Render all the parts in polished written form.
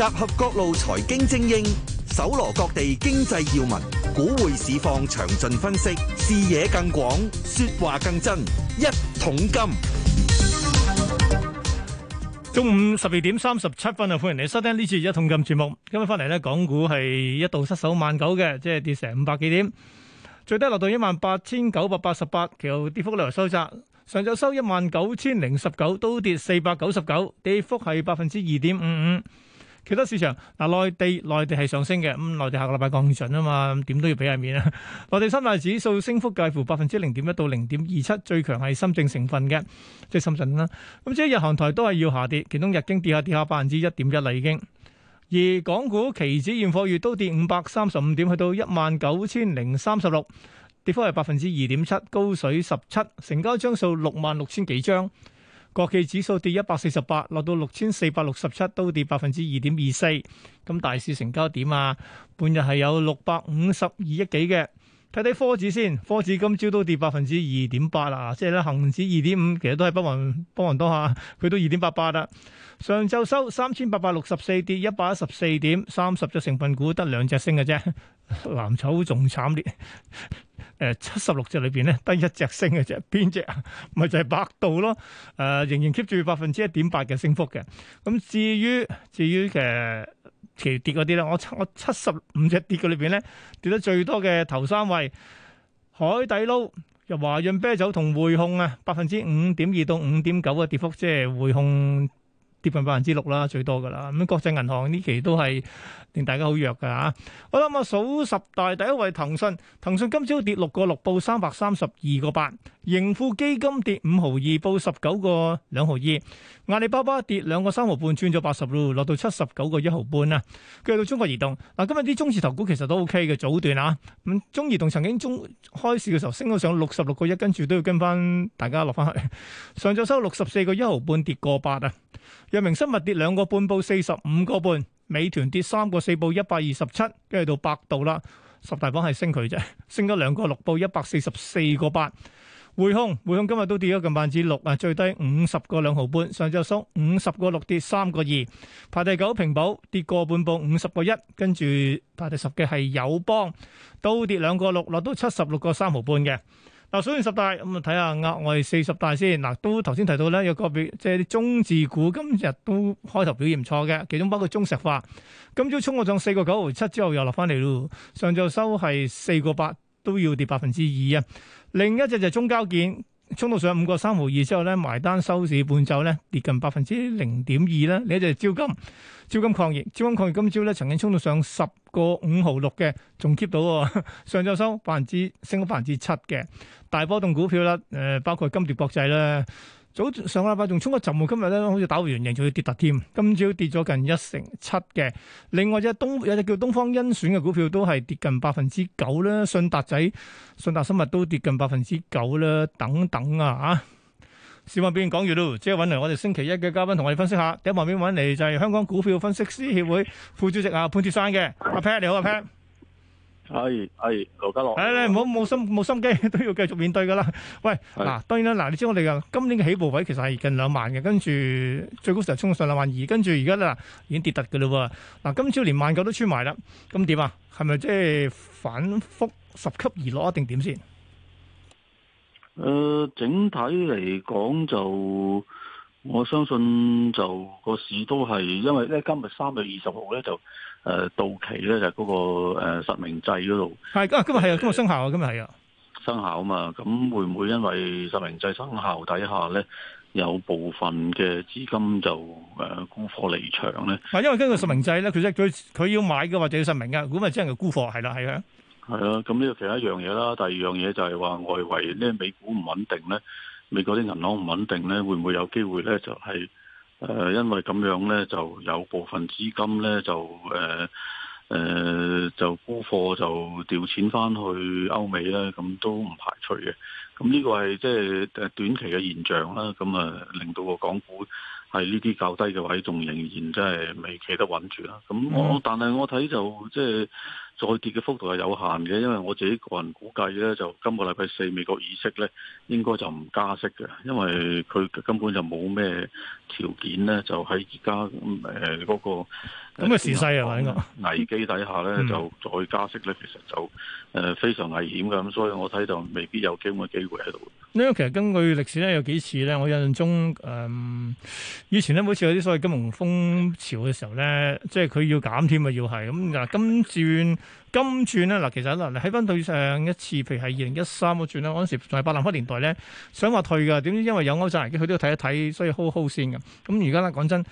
集合各路財經精英，搜羅各地經濟要聞，股匯市況詳盡分析，視野更廣，說話更真。一桶金， 中午12:37啊！歡迎你收聽呢次一桶金節目。今日翻嚟咧，港股係一度失守19000嘅，即係跌成500幾點，最低落到18988，其後跌幅略為收窄。上晝收19019，都跌499，跌幅係2.55%。其他市場嗱，內地係上升嘅，內地下個禮拜降準啊嘛，點都要俾下面啊。內地三大指數升幅介乎0.1%到0.27%，最強係深證成分嘅，即係深圳啦。咁即係日韓台都係要下跌，其中日經跌下1.1%啦已經。而港股期指現貨月都跌535點，去到19036，跌幅係2.7%，高水17，成交張數66000幾張。國企指數跌148，落到6467，都跌2.24%。咁大市成交點啊，半日係有652億幾嘅。睇睇科指先，科指今朝都跌2.8%啦，即係咧恒指2.5%，其實都係不遑多下，佢都2.88%啦。上晝收3864，跌114點，30隻成分股得2隻升嘅啫，藍籌仲慘烈。76隻裏邊咧，得1隻升嘅啫，邊隻啊？咪就係百度咯。仍然 keep 住1.8%嘅升幅嘅。咁至於其跌嗰啲咧，我75隻跌嘅裏邊咧，跌得最多嘅頭3位，海底撈、又華潤啤酒同匯控啊，5.2%到5.9%嘅跌幅，即係匯控跌近6%啦，最多噶啦。咁國際銀行呢期都係令大家好弱噶吓。我諗啊，數十大第一位騰訊今朝跌6個6，報332個8。盈富基金跌5毫2，報19個2毫2。阿里巴巴跌2個3毫半，轉咗80路，落到79個1毫半啊。跟住到中國移動，嗱，今日啲中字頭股其實都 OK 嘅，早段啊。咁中移動曾經開市嘅時候升到上66個1，跟住都要跟翻大家落翻去。上晝收64個1毫半，跌個8啊。藥明生物跌2個半，報45個半。美團跌3個4，報127。跟住到百度啦，十大榜係升佢啫，升咗2個6，報144個8。匯控今日都跌咗近6%啊，最低50個2毫半，上晝收50個6，跌3個2。排第9平保跌個半，報50個1，跟住排第10嘅係友邦，都跌2個6，落到76個3毫半嘅。嗱，數完十大咁啊，睇下額外40大先。嗱，都頭先提到咧，有個別即係啲中字股今日都開頭表現唔錯嘅，其中包括中石化，今朝衝過上4個9毫7之後又落翻嚟咯，上晝收係4個8，都要跌2%啊。另一隻就係中交建，衝到上5個3毫2之後咧，埋單收市半晝咧跌近0.2%啦。另一隻係招金礦業今朝咧曾經衝到上10個5毫6嘅，仲 keep 到喎。上晝收升咗7%嘅大波動股票啦。包括金蝶國際啦，上個禮拜仲衝一陣喎，今日咧好似打回原形，仲要跌突添。今朝跌咗近1.7%嘅。另外有隻叫東方甄選嘅股票都係跌近9%啦。信達生物都跌近9%啦，等等啊嚇。市況表現講完咯，即係揾嚟我哋星期一嘅嘉賓同我哋分析下。第一旁邊揾嚟就係香港股票分析師協會副主席潘鐵珊嘅阿 Pat，你好，阿 Pat。 係羅家樂。 你唔好冇心機，都要繼續面對噶啦。喂，嗱，當然啦，你知我哋嘅今年嘅起步位其實係近2萬嘅，跟住最高時候衝上22000，跟住而家咧已經跌突噶啦喎。嗱，今朝連19000都穿埋啦，咁點啊？係咪即係反覆十級而落一定點先？ 整體嚟講就我相信就個市都係因為咧今日3月20號咧就到期咧就嗰個實名制嗰度係今日係啊，今日生效啊，今日係啊生效啊嘛。咁會唔會因為實名制生效底下咧有部分嘅資金就沽貨離場咧？ 因為根據實名制咧，佢要買嘅或者要實名嘅，咁咪真係沽貨係啦，係啊。 係啊，咁呢個其中一樣嘢啦。第二樣嘢就係話外圍呢美股唔穩定咧，美國啲銀行唔穩定咧，會唔會有機會咧就係因為咁樣咧就有部分資金咧就就沽貨就調錢翻去歐美咧，咁都唔排除嘅。咁呢個係即係短期嘅現象啦。咁令到個港股係呢啲較低嘅位，仲仍然即係未企得穩住啦。咁但係我睇就即係再跌嘅幅度係有限嘅，因為我自己個人估計咧，就今個禮拜四美國議息咧，應該就唔加息嘅，因為佢根本就冇咩條件咧，就喺而家嗰個咁嘅時勢係咪應該危機底下咧，就再加息咧，其實就非常危險嘅，咁所以我睇就未必有機會喺度。 因為其實根據歷史咧，有幾次咧，我印象中以前咧，每次有啲所謂金融風潮嘅時候咧，即係佢要減添啊，要係咁嗱，金轉咧嗱，其實嗱，你睇翻對上一次，譬如係2013嗰轉咧，嗰陣時仲係百南克年代咧，想話退㗎，點知因為有歐債危機，佢都要睇一睇，所以 hold 先嘅。咁而家咧講真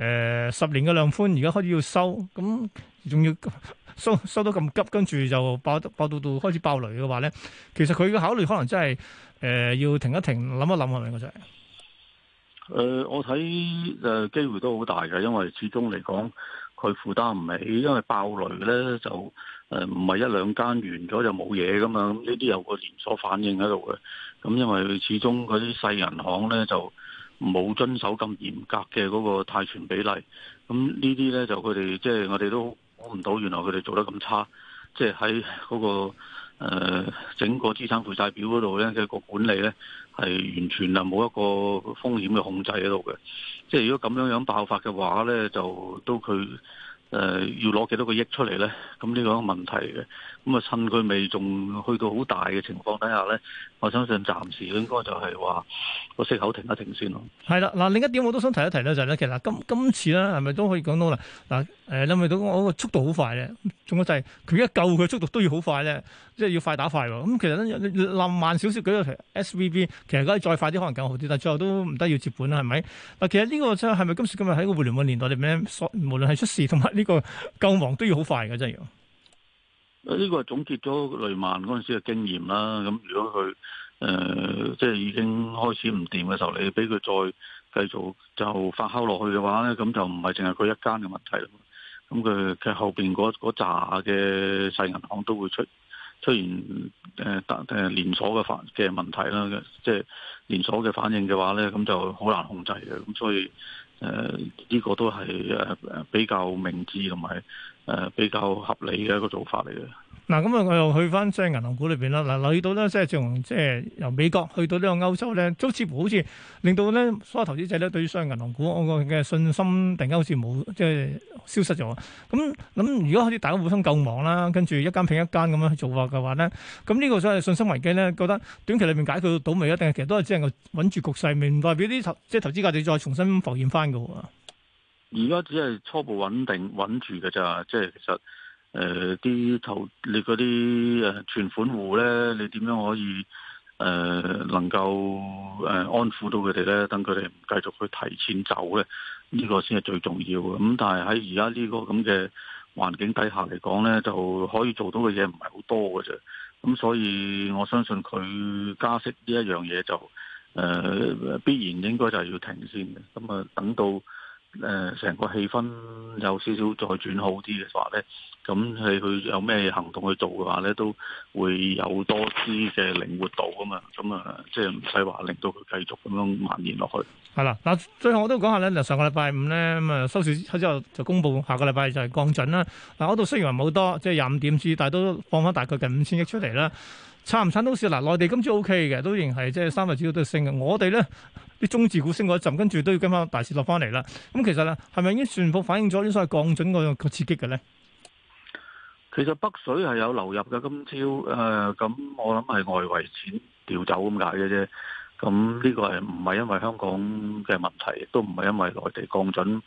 ，10年嘅量寬而家開始要收，咁仲要收得咁急，跟住就爆到開始爆雷嘅話咧，其實佢嘅考慮可能真係要停一停，諗一諗係咪嗰隻？ 我睇機會都好大嘅，因為始終嚟講佢負擔唔起，因為爆雷咧就唔係一兩間完咗就冇嘢噶嘛，咁呢啲有個連鎖反應喺度嘅。咁因為始終嗰啲細銀行咧就冇遵守咁嚴格嘅嗰個貸存比例，咁呢啲咧就佢哋即係我哋都估唔到，原來佢哋做得咁差，即係喺嗰個整個資產負債表嗰度咧嘅個管理咧係完全啊冇一個風險嘅控制喺度嘅。即係如果咁樣爆發嘅話咧，就都佢要攞幾多個億出嚟咧？咁呢個係一個問題嘅。咁啊，趁佢未仲去到好大嘅情況底下咧，我相信暫時應該就係話個息口停一停先咯。 係啦，嗱另一點我都想提一提咧，就係咧，其實今次咧係咪都可以講到啦？嗱你咪到我個速度好快咧，仲有就係佢一救佢速度都要好快咧，即係要快打快喎。咁其實咧冧慢少少舉個 SVB， 其實可以再快啲可能更好啲，但係最後都唔得要接本啦，係咪？嗱，其實呢個真係咪今時今日喺個互聯網年代裏面，無論係出事同埋呢個救亡都要好快嘅，真係要。 呢個係總結咗雷曼嗰陣時嘅經驗啦。咁如果佢即係已經開始唔掂嘅時候，你俾佢再繼續就發酵落去嘅話咧，咁就唔係淨係佢一間嘅問題啦。咁佢後邊嗰紮嘅細銀行都會出現連鎖嘅問題啦。即係連鎖嘅反應嘅話咧，咁就好難控制嘅。咁所以呢個都係比較明智同埋比較合理嘅一個做法嚟嘅。嗱， 咁我又去翻即係銀行股裏邊啦。嗱，留意到咧，即係從即係由美國去到呢個歐洲咧，都似乎好似令到咧所有投資者咧對於商業銀行股我個嘅信心突然間好似冇即係消失咗。咁如果好似大家互相救亡啦，跟住一間拼一間咁樣去做法嘅話咧，咁呢個所謂信心危機咧，覺得短期裏面解決到未？一定係其實都係只能夠穩住局勢，唔代表啲投資價值再重新浮現翻嘅喎。 而家只係初步穩住嘅咋，即係其實你嗰啲存款戶咧，你點樣可以能夠安撫到佢哋咧？等佢哋唔繼續去提前走咧，呢個先係最重要嘅。咁但係喺而家呢個咁嘅環境底下嚟講咧，就可以做到嘅嘢唔係好多嘅啫。咁所以我相信佢加息呢一樣嘢就必然應該就係要停先嘅。咁啊，等到成個氣氛有少少再轉好啲嘅話咧，咁佢有咩行動去做嘅話咧，都會有多啲嘅靈活度啊嘛，咁啊，即係唔使話令到佢繼續咁樣蔓延落去。係啦， 嗱，最後我都講下咧，嗱，上個禮拜五咧，咁啊收市之後就公佈下個禮拜就係降準啦。嗱，嗰度雖然話冇多，即係25點子，但係都放翻大概近5000億出嚟啦。撐唔撐到市？嗱，內地今朝 O K 嘅，都仍係即係三大指數都升嘅。我哋咧啲中字股升過一陣，跟住都要跟翻大市落翻嚟啦。咁其實咧，係咪已經全部反映咗啲所謂降準個刺激嘅咧？ 其實北水係有流入嘅，今朝咁我諗係外圍錢調走咁解嘅啫。咁呢個係唔係因為香港嘅問題，亦都唔係因為內地降準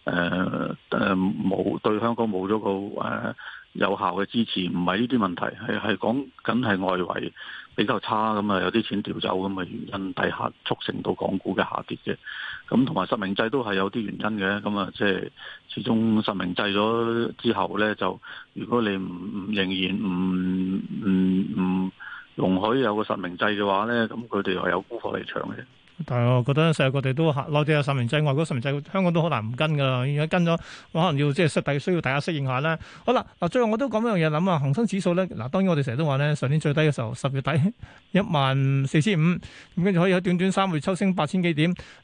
冇對香港冇咗個有效嘅支持，唔係呢啲問題，係講緊係外圍比較差咁啊，有啲錢調走咁嘅原因底下促成到港股嘅下跌嘅。咁同埋實名制都係有啲原因嘅。咁啊，即係始終實名制咗之後咧，就如果你仍然唔容許有個實名制嘅話咧，咁佢哋又有沽貨離場嘅。但係我覺得世界各地都內地有實名制，外國實名制，香港都好難唔跟噶啦。而家跟咗，可能要即係需要大家適應下啦。好啦，嗱，最後我都講一樣嘢，諗啊，恒生指數咧，嗱，當然我哋成日都話咧，上年最低嘅時候10月底14500，咁跟住可以喺短短3個月抽升8000幾點。嗱，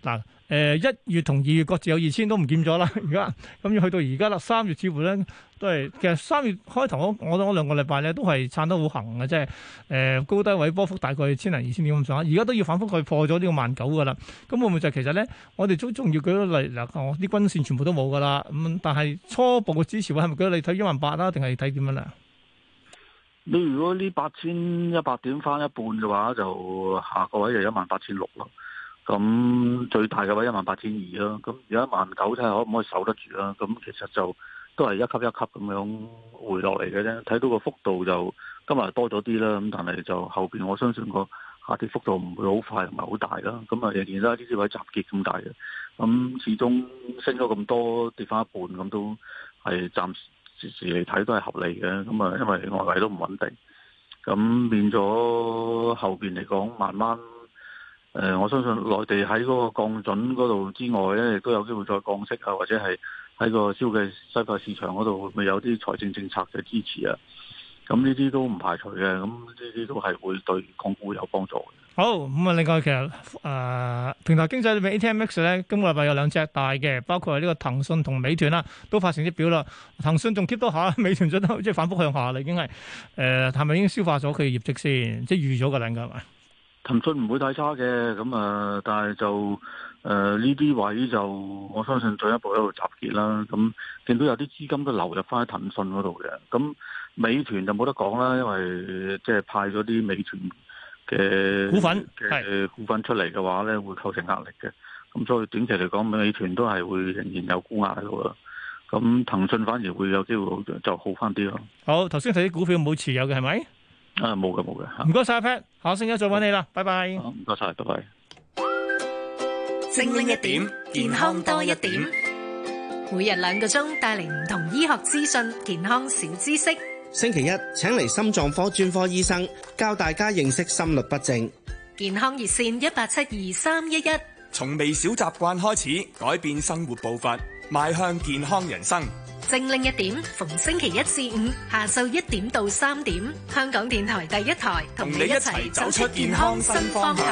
1月同2月各自有2000都唔見咗啦，而家咁要去到而家啦，3月似乎咧都係其實3月開頭我兩個禮拜咧都係撐得好行嘅，即係高低位波幅大概1000零2000點咁上下，而家都要反覆去破咗呢個19000噶啦。咁會唔會就其實咧，我哋都仲要舉個例嗱，我啲均線全部都冇噶啦，咁但係初步嘅支持位係咪舉例睇18000啦，定係睇點樣咧？ 你如果呢8100點翻一半嘅話，就下個位就18600咯。咁最大嘅位18200咯。咁而家19000睇下可唔可以守得住啦。咁其實就都係一級一級咁樣回落嚟嘅啫。睇到個幅度就今日多咗啲啦。咁但係就後邊我相信個下跌幅度唔會好快同埋好大啦。咁啊仍然啦，呢啲位集結咁大嘅。咁始終升咗咁多，跌翻一半咁都係暫時嚟睇都係合理嘅。咁啊因為外圍都唔穩定，咁變咗後邊嚟講慢慢。我相信內地喺嗰個降準嗰度之外咧，亦都有機會再降息啊，或者係喺個消費市場嗰度會唔會有啲財政政策嘅支持啊？咁呢啲都唔排除嘅，咁呢啲都係會對港股有幫助嘅。 好，咁啊，另外其實平台經濟裏面 ATMX 咧，今個禮拜有2隻大嘅，包括係呢個騰訊同美團啦，都發成績表啦。騰訊仲 keep 到下，美團真係即係反覆向下啦，已經係係咪已經消化咗佢嘅業績先？即係預咗㗎啦，應該係咪？ 騰訊唔會太差嘅，咁但係就呢啲位就我相信進一步喺度集結啦。咁見到有啲資金都流入翻喺騰訊嗰度嘅，咁美團就冇得講啦，因為即係派咗啲美團嘅股份出嚟嘅話咧，會構成壓力嘅。咁所以短期嚟講，美團都係會仍然有沽壓喺度啦。咁騰訊反而會有機會就好翻啲咯。 好，頭先睇啲股票冇持有嘅係咪？ 冇嘅。 唔該晒 Pat，下星期再揾你啦，拜拜。 唔該晒，拜拜。 精靈一點，健康多一點。每日2個鐘帶嚟唔同醫學資訊、健康小知識。 星期一請嚟心臟科專科醫生教大家認識心律不正。 健康熱線18723111。 從微小習慣開始，改變生活步伐，邁向健康人生。 精靈一點，逢星期1至5下晝1點到3點，香港電台第一台同你一齊走出健康新方向。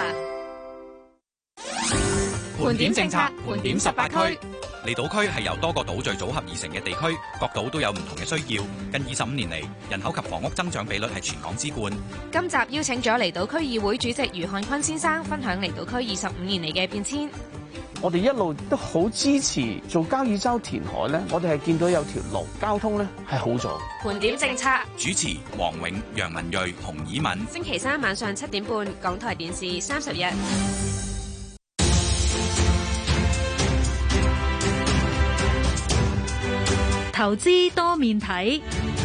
盤點政策，盤點18區。離島區係由多個島嶼組合而成嘅地區，各島都有唔同嘅需要。近25年嚟，人口及房屋增長比率係全港之冠。 今集邀請咗離島區議會主席余漢坤先生分享離島區25年嚟嘅變遷。 我哋一路都好支持做交椅洲填海咧，我哋係見到有條路交通咧係好咗。 盤點政策， 主持黃永、楊文睿、洪以敏。 星期3晚上7點半，港台電視30日。 投資多面睇。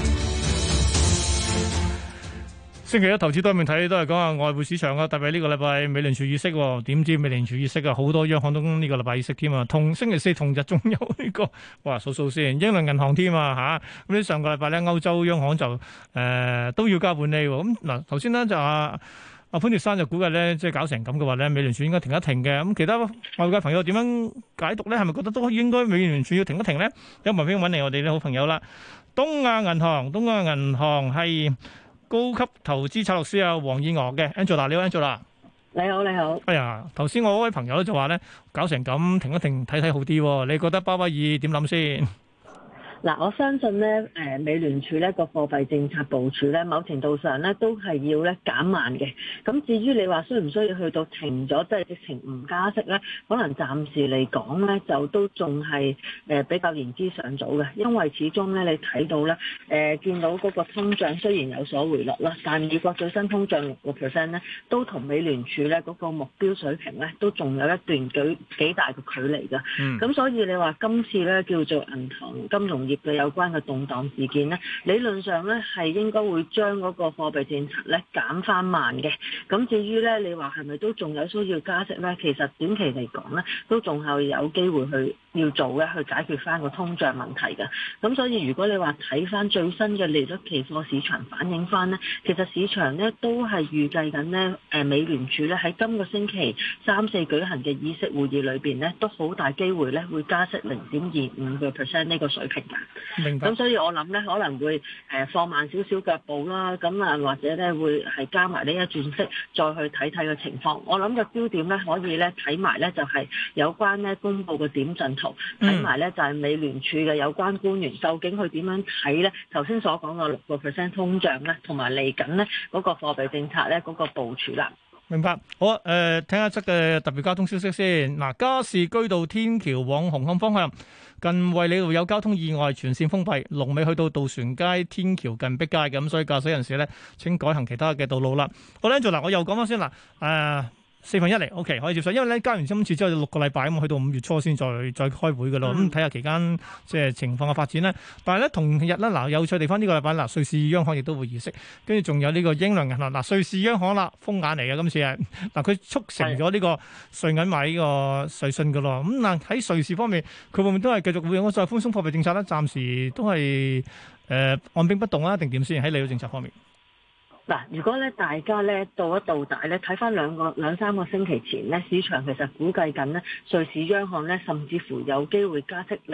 星期一投資多面睇都係講下外匯市場啊，特別係呢個禮拜美聯儲議息，點知美聯儲議息啊，好多央行都呢個禮拜議息添啊，同星期四同日仲有呢個，哇數數先，英倫銀行添啊嚇，咁呢上個禮拜咧歐洲央行就都要加半厘喎，咁嗱頭先咧就阿潘鐵珊就估計咧，即係搞成咁嘅話咧，美聯儲應該停一停嘅，咁其他外界朋友點樣解讀咧？係咪覺得都應該美聯儲要停一停咧？有文篇揾嚟我哋啲好朋友啦，東亞銀行係高級投資策略師啊，黃燕娥嘅 Angela， 你好 Angela。 你好。哎呀，頭先我嗰位朋友就話咧，搞成咁停一停睇睇好啲，你覺得鮑威爾點諗先？ 嗱，我相信咧，美聯儲咧個貨幣政策部署咧，某程度上咧都係要咧減慢嘅。咁至於你話需唔需要去到停咗，即係直情唔加息咧，可能暫時嚟講咧，就都仲係比較言之尚早嘅。因為始終咧，你睇到咧，見到嗰個通脹雖然有所回落啦，但美國最新通脹6%咧，都同美聯儲咧嗰個目標水平咧，都仲有一段幾大嘅距離㗎。咁所以你話今次咧叫做銀行金融業嘅有關嘅動盪事件咧，理論上咧係應該會將嗰個貨幣政策咧減翻慢嘅。咁至於咧，你話係咪都仲有需要加息咧？其實短期嚟講咧，都仲係有機會去要做嘅，去解決翻個通脹問題嘅。咁所以如果你話睇翻最新嘅利率期貨市場反映翻咧，其實市場咧都係預計緊咧，美聯儲咧喺今個星期3、4舉行嘅議息會議裏邊咧，都好大機會咧會加息0.25%呢個水平㗎。 明白。 咁所以我諗咧可能會放慢少少腳步啦，咁啊或者咧會係加埋呢一轉息，再去睇睇個情況。我諗個焦點咧可以咧睇埋咧就係有關咧公佈嘅點陣圖，睇埋咧就係美聯儲嘅有關官員究竟佢點樣睇咧頭先所講嘅6% 通脹咧，同埋嚟緊咧嗰個貨幣政策咧嗰個部署啦。 明白，好啊，聽一則嘅特別交通消息先。嗱，加士居道天橋往紅磡方向，近衛理道有交通意外，全線封閉，龍尾去到渡船街天橋近碧街嘅，咁所以駕駛人士咧請改行其他嘅道路啦。好咧，嗱，我又講翻先啦，1/4嚟 ，OK 可以接受，因為咧加完今次之後6個禮拜咁，去到5月初先再開會嘅咯。咁睇下期間即係情況嘅發展咧。但係咧同日咧嗱有趣地方呢個禮拜嗱，瑞士央行亦都會議息，跟住仲有呢個英倫銀行嗱，瑞士央行啦風眼嚟嘅今次係嗱，佢促成咗呢個瑞銀買呢個瑞信嘅咯。咁嗱喺瑞士方面，佢會唔會都係繼續會用再寬鬆貨幣政策咧？暫時都係按兵不動啊，定點先喺利率政策方面？ 嗱，如果咧大家咧到一到大咧睇翻兩三個星期前咧，市場其實估計緊咧瑞士央行咧甚至乎有機會加息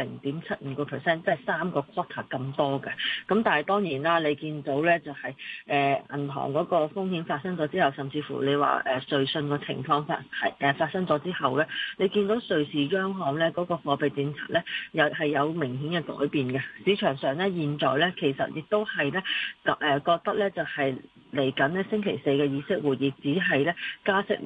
0.75%，即係3個 quarter 咁多嘅。咁但係當然啦，你見到咧就係銀行嗰個風險發生咗之後，甚至乎你話瑞信個情況發生咗之後咧，你見到瑞士央行咧嗰個貨幣政策咧又係有明顯嘅改變嘅。市場上咧現在咧其實亦都係咧覺得咧就係嚟緊咧星期四嘅議息會議只係咧加息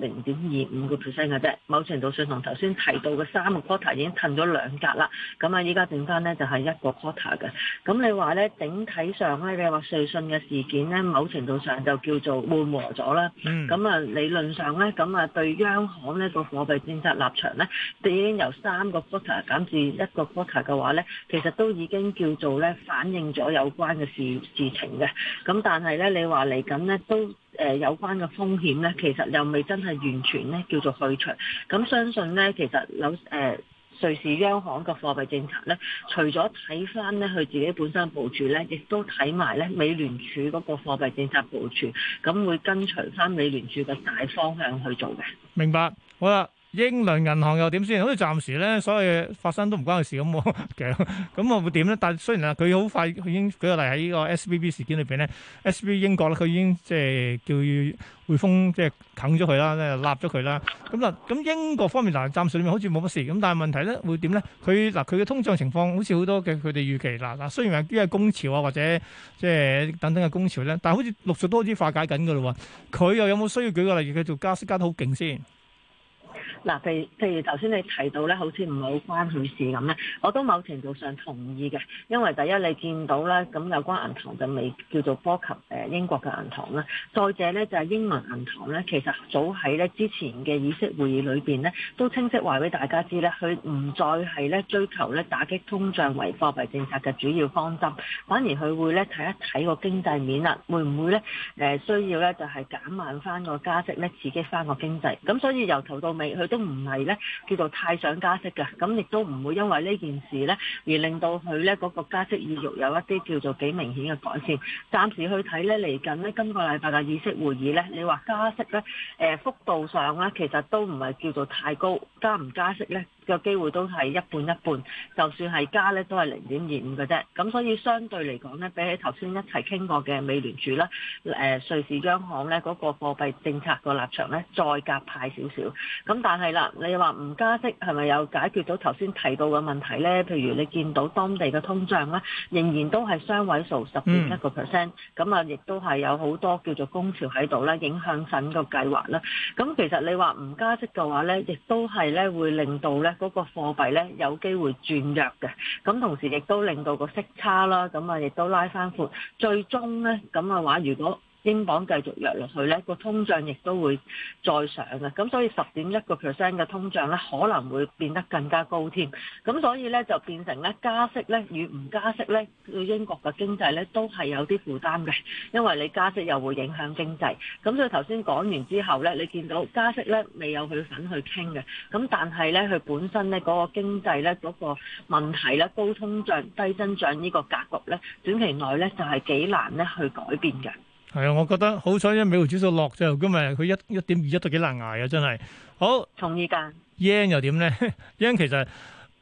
0.25%嘅啫，某程度上同頭先提到嘅3個 quarter 已經褪咗2格啦。咁啊，依家剩翻咧就係1個 quarter 嘅。咁你話咧整體上咧，你話瑞信嘅事件咧，某程度上就叫做緩和咗啦。咁啊，理論上咧，咁啊對央行呢個貨幣政策立場咧，已經由3個 quarter 減至1個 quarter 嘅話咧，其實都已經叫做咧反映咗有關嘅事情嘅。咁但係咧，你話嚟咁咧都有關嘅風險咧，其實又未真係完全咧叫做去除。咁相信咧，其實瑞士央行嘅貨幣政策咧，除咗睇翻咧佢自己本身部署咧，亦都睇埋咧美聯儲嗰個貨幣政策部署，咁會跟隨翻美聯儲嘅大方向去做嘅。 明白，好啦。英倫銀行又點先？好似暫時咧，所有嘢發生都唔關佢事咁喎。其實咁我會點咧？但係雖然佢好快，佢已經舉個例喺呢個 SVB 事件裏邊咧，SVB 英國咧，佢已經即係叫匯豐即係啃咗佢啦，即係立咗佢啦。咁英國方面嗱，暫時裏面好似冇乜事。咁但係問題咧會點咧？佢嘅通脹情況好似好多嘅佢哋預期嗱，雖然話啲係工潮啊或者即係等等嘅工潮咧，但係好似陸續都開始化解緊㗎咯喎。佢又有冇需要舉個例，佢做加息加得好勁先？ 嗱，譬如頭先你提到咧，好似唔係好關佢事咁咧，我都某程度上同意嘅，因為第一你見到咧，咁有關銀行就未叫做波及英國嘅銀行啦，再者咧就係英倫銀行咧，其實早喺咧之前嘅議息會議裏邊咧，都清晰話俾大家知咧，佢唔再係咧追求咧打擊通脹為貨幣政策嘅主要方針，反而佢會咧睇一睇個經濟面啦，會唔會咧需要咧就係減慢翻個加息咧，刺激翻個經濟，咁所以由頭到尾佢都唔係咧叫做太想加息嘅，咁亦都唔會因為呢件事咧而令到佢咧嗰個加息意欲有一啲叫做幾明顯嘅改善。暫時去睇咧嚟緊咧今個禮拜嘅議息會議咧，你話加息咧幅度上咧其實都唔係叫做太高，加唔加息咧個機會都係一半一半，就算係加咧都係0.25嘅啫。咁所以相對嚟講咧，比起頭先一齊傾過嘅美聯儲啦、瑞士央行咧嗰個貨幣政策個立場咧再鴿派少少。咁但係啦，你話唔加息係咪有解決到頭先提到嘅問題咧？譬如你見到當地嘅通脹咧，仍然都係雙位數10.1%，咁啊亦都係有好多叫做工潮喺度啦，影響緊個計劃啦。咁其實你話唔加息嘅話咧，亦都係咧會令到咧嗰個貨幣咧有機會轉弱嘅。咁同時亦都令到個息差啦，咁啊亦都拉翻闊。最終咧咁嘅話，如果英鎊繼續弱落去咧，個通脹亦都會再上嘅，咁所以10.1% 嘅通脹咧可能會變得更加高添，咁所以咧就變成咧加息咧與唔加息咧對英國嘅經濟咧都係有啲負擔嘅，因為你加息又會影響經濟，咁所以頭先講完之後咧，你見到加息咧未有佢份去傾嘅，咁但係咧佢本身咧嗰個經濟咧嗰個問題咧高通脹低增長呢個格局咧短期內咧就係幾難咧去改變嘅。 係啊，我覺得好彩，因為美匯指數落就今日佢1.21都幾難捱啊！真係好。 同意㗎。 yen 又點咧？yen 其實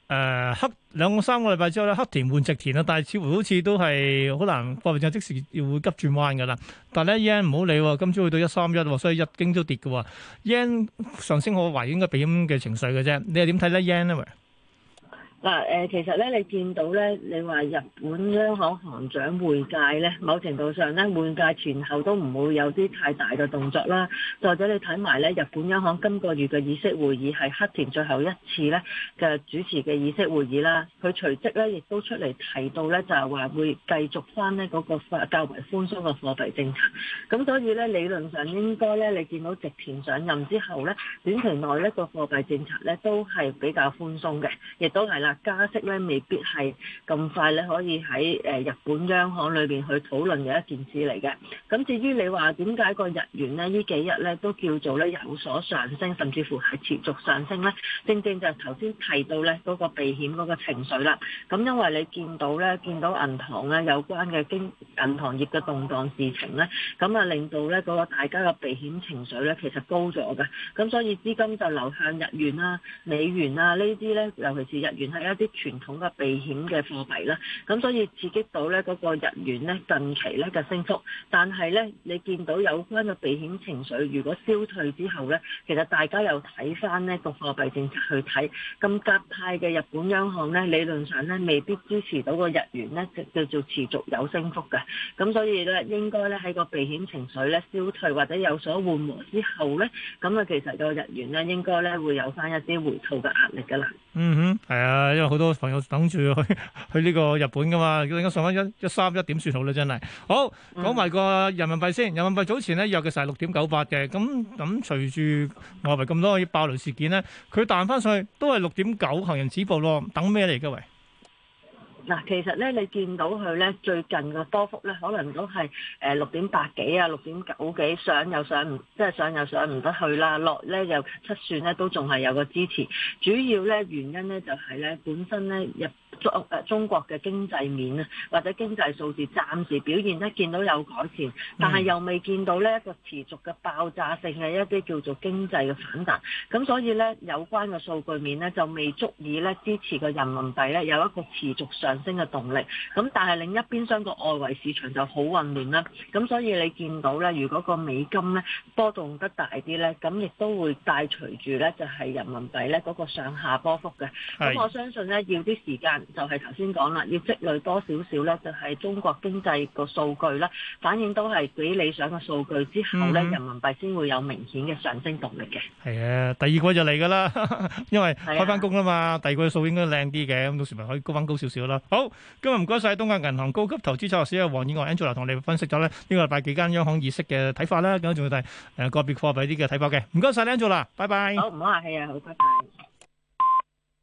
黑3個禮拜之後咧，黑田換直田啊，但係似乎好似都係好難貨幣政策即時要會急轉彎㗎啦。但係咧 yen 唔好理喎，今朝去到131，所以日經都跌嘅喎。yen 上升我懷疑應該避險嘅情緒嘅啫。你又點睇咧 yen 咧？ 嗱其實咧，你見到咧，你話日本央行行長換屆咧，某程度上咧，換屆前後都唔會有啲太大嘅動作啦。再者你睇埋咧，日本央行今個月嘅議息會議係黑田最後一次咧嘅主持嘅議息會議啦。佢隨即咧亦都出嚟提到咧，就係話會繼續翻呢嗰個較為寬鬆嘅貨幣政策。咁所以咧，理論上應該咧，你見到直田上任之後咧，短期內呢個貨幣政策咧都係比較寬鬆嘅，亦都係啦。加息咧未必係咁快咧，可以喺日本央行裏邊去討論嘅一件事嚟嘅。咁至於你話點解個日元咧呢幾日咧都叫做咧有所上升，甚至乎係持續上升咧？正正就係頭先提到咧嗰個避險嗰個情緒啦。咁因為你見到銀行咧有關嘅銀行業嘅動盪事情咧，咁啊令到咧嗰個大家嘅避險情緒咧其實高咗嘅。咁所以資金就流向日元啦、美元啊呢啲咧，尤其是日元係一啲傳統嘅避險嘅貨幣啦，咁所以刺激到咧嗰個日元咧近期咧嘅升幅，但係咧你見到有關嘅避險情緒如果消退之後咧，其實大家又睇翻呢個貨幣政策去睇，咁鴿派嘅日本央行咧理論上咧未必支持到個日元咧叫做持續有升幅嘅，咁所以咧應該咧喺個避險情緒咧消退或者有所緩和之後咧，咁啊其實個日元咧應該咧會有翻一啲回吐嘅壓力㗎啦。 嗯哼，係啊，因為好多朋友等住去呢個日本噶嘛，應該上翻131點算好啦，真係。好，講埋個人民幣先。人民幣早前咧約嘅就係6.98嘅，咁隨住外圍咁多爆雷事件咧，佢彈翻上去都係6.9，行人止步咯。等咩嚟㗎喂？ 嗱，其實咧，你見到佢咧最近嘅波幅咧，可能都係6.8幾啊、6.9幾，上又上唔，即係上又上唔得去啦，落咧又七算咧都仲係有個支持。主要咧原因咧就係咧本身咧中國嘅經濟面啊，或者經濟數字暫時表現咧見到有改善，但係又未見到呢一個持續嘅爆炸性嘅一啲叫做經濟嘅反彈。咁所以咧有關嘅數據面咧就未足以咧支持個人民幣咧有一個持續上升嘅動力。咁但係另一邊廂個外圍市場就好混亂啦。咁所以你見到咧，如果個美金咧波動得大啲咧，咁亦都會帶隨住咧就係人民幣咧嗰個上下波幅嘅。咁我相信咧要啲時間。就係頭先講啦，要積累多少少咧，就係中國經濟個數據啦，反映都係幾理想嘅數據之後咧，人民幣先會有明顯嘅上升動力嘅。 係啊，第二季就嚟㗎啦，因為開翻工啦嘛，第二季嘅數應該靚啲嘅，咁到時咪可以高翻高少少啦。好，今日唔該晒東亞銀行高級投資策劃師黃燕娥 Angela 同我哋分析咗咧呢個禮拜幾間央行議息嘅睇法啦，咁仲要睇個別貨幣啲嘅睇法嘅。唔該晒 Angela，拜拜。 好，唔好客氣啊，好，拜拜。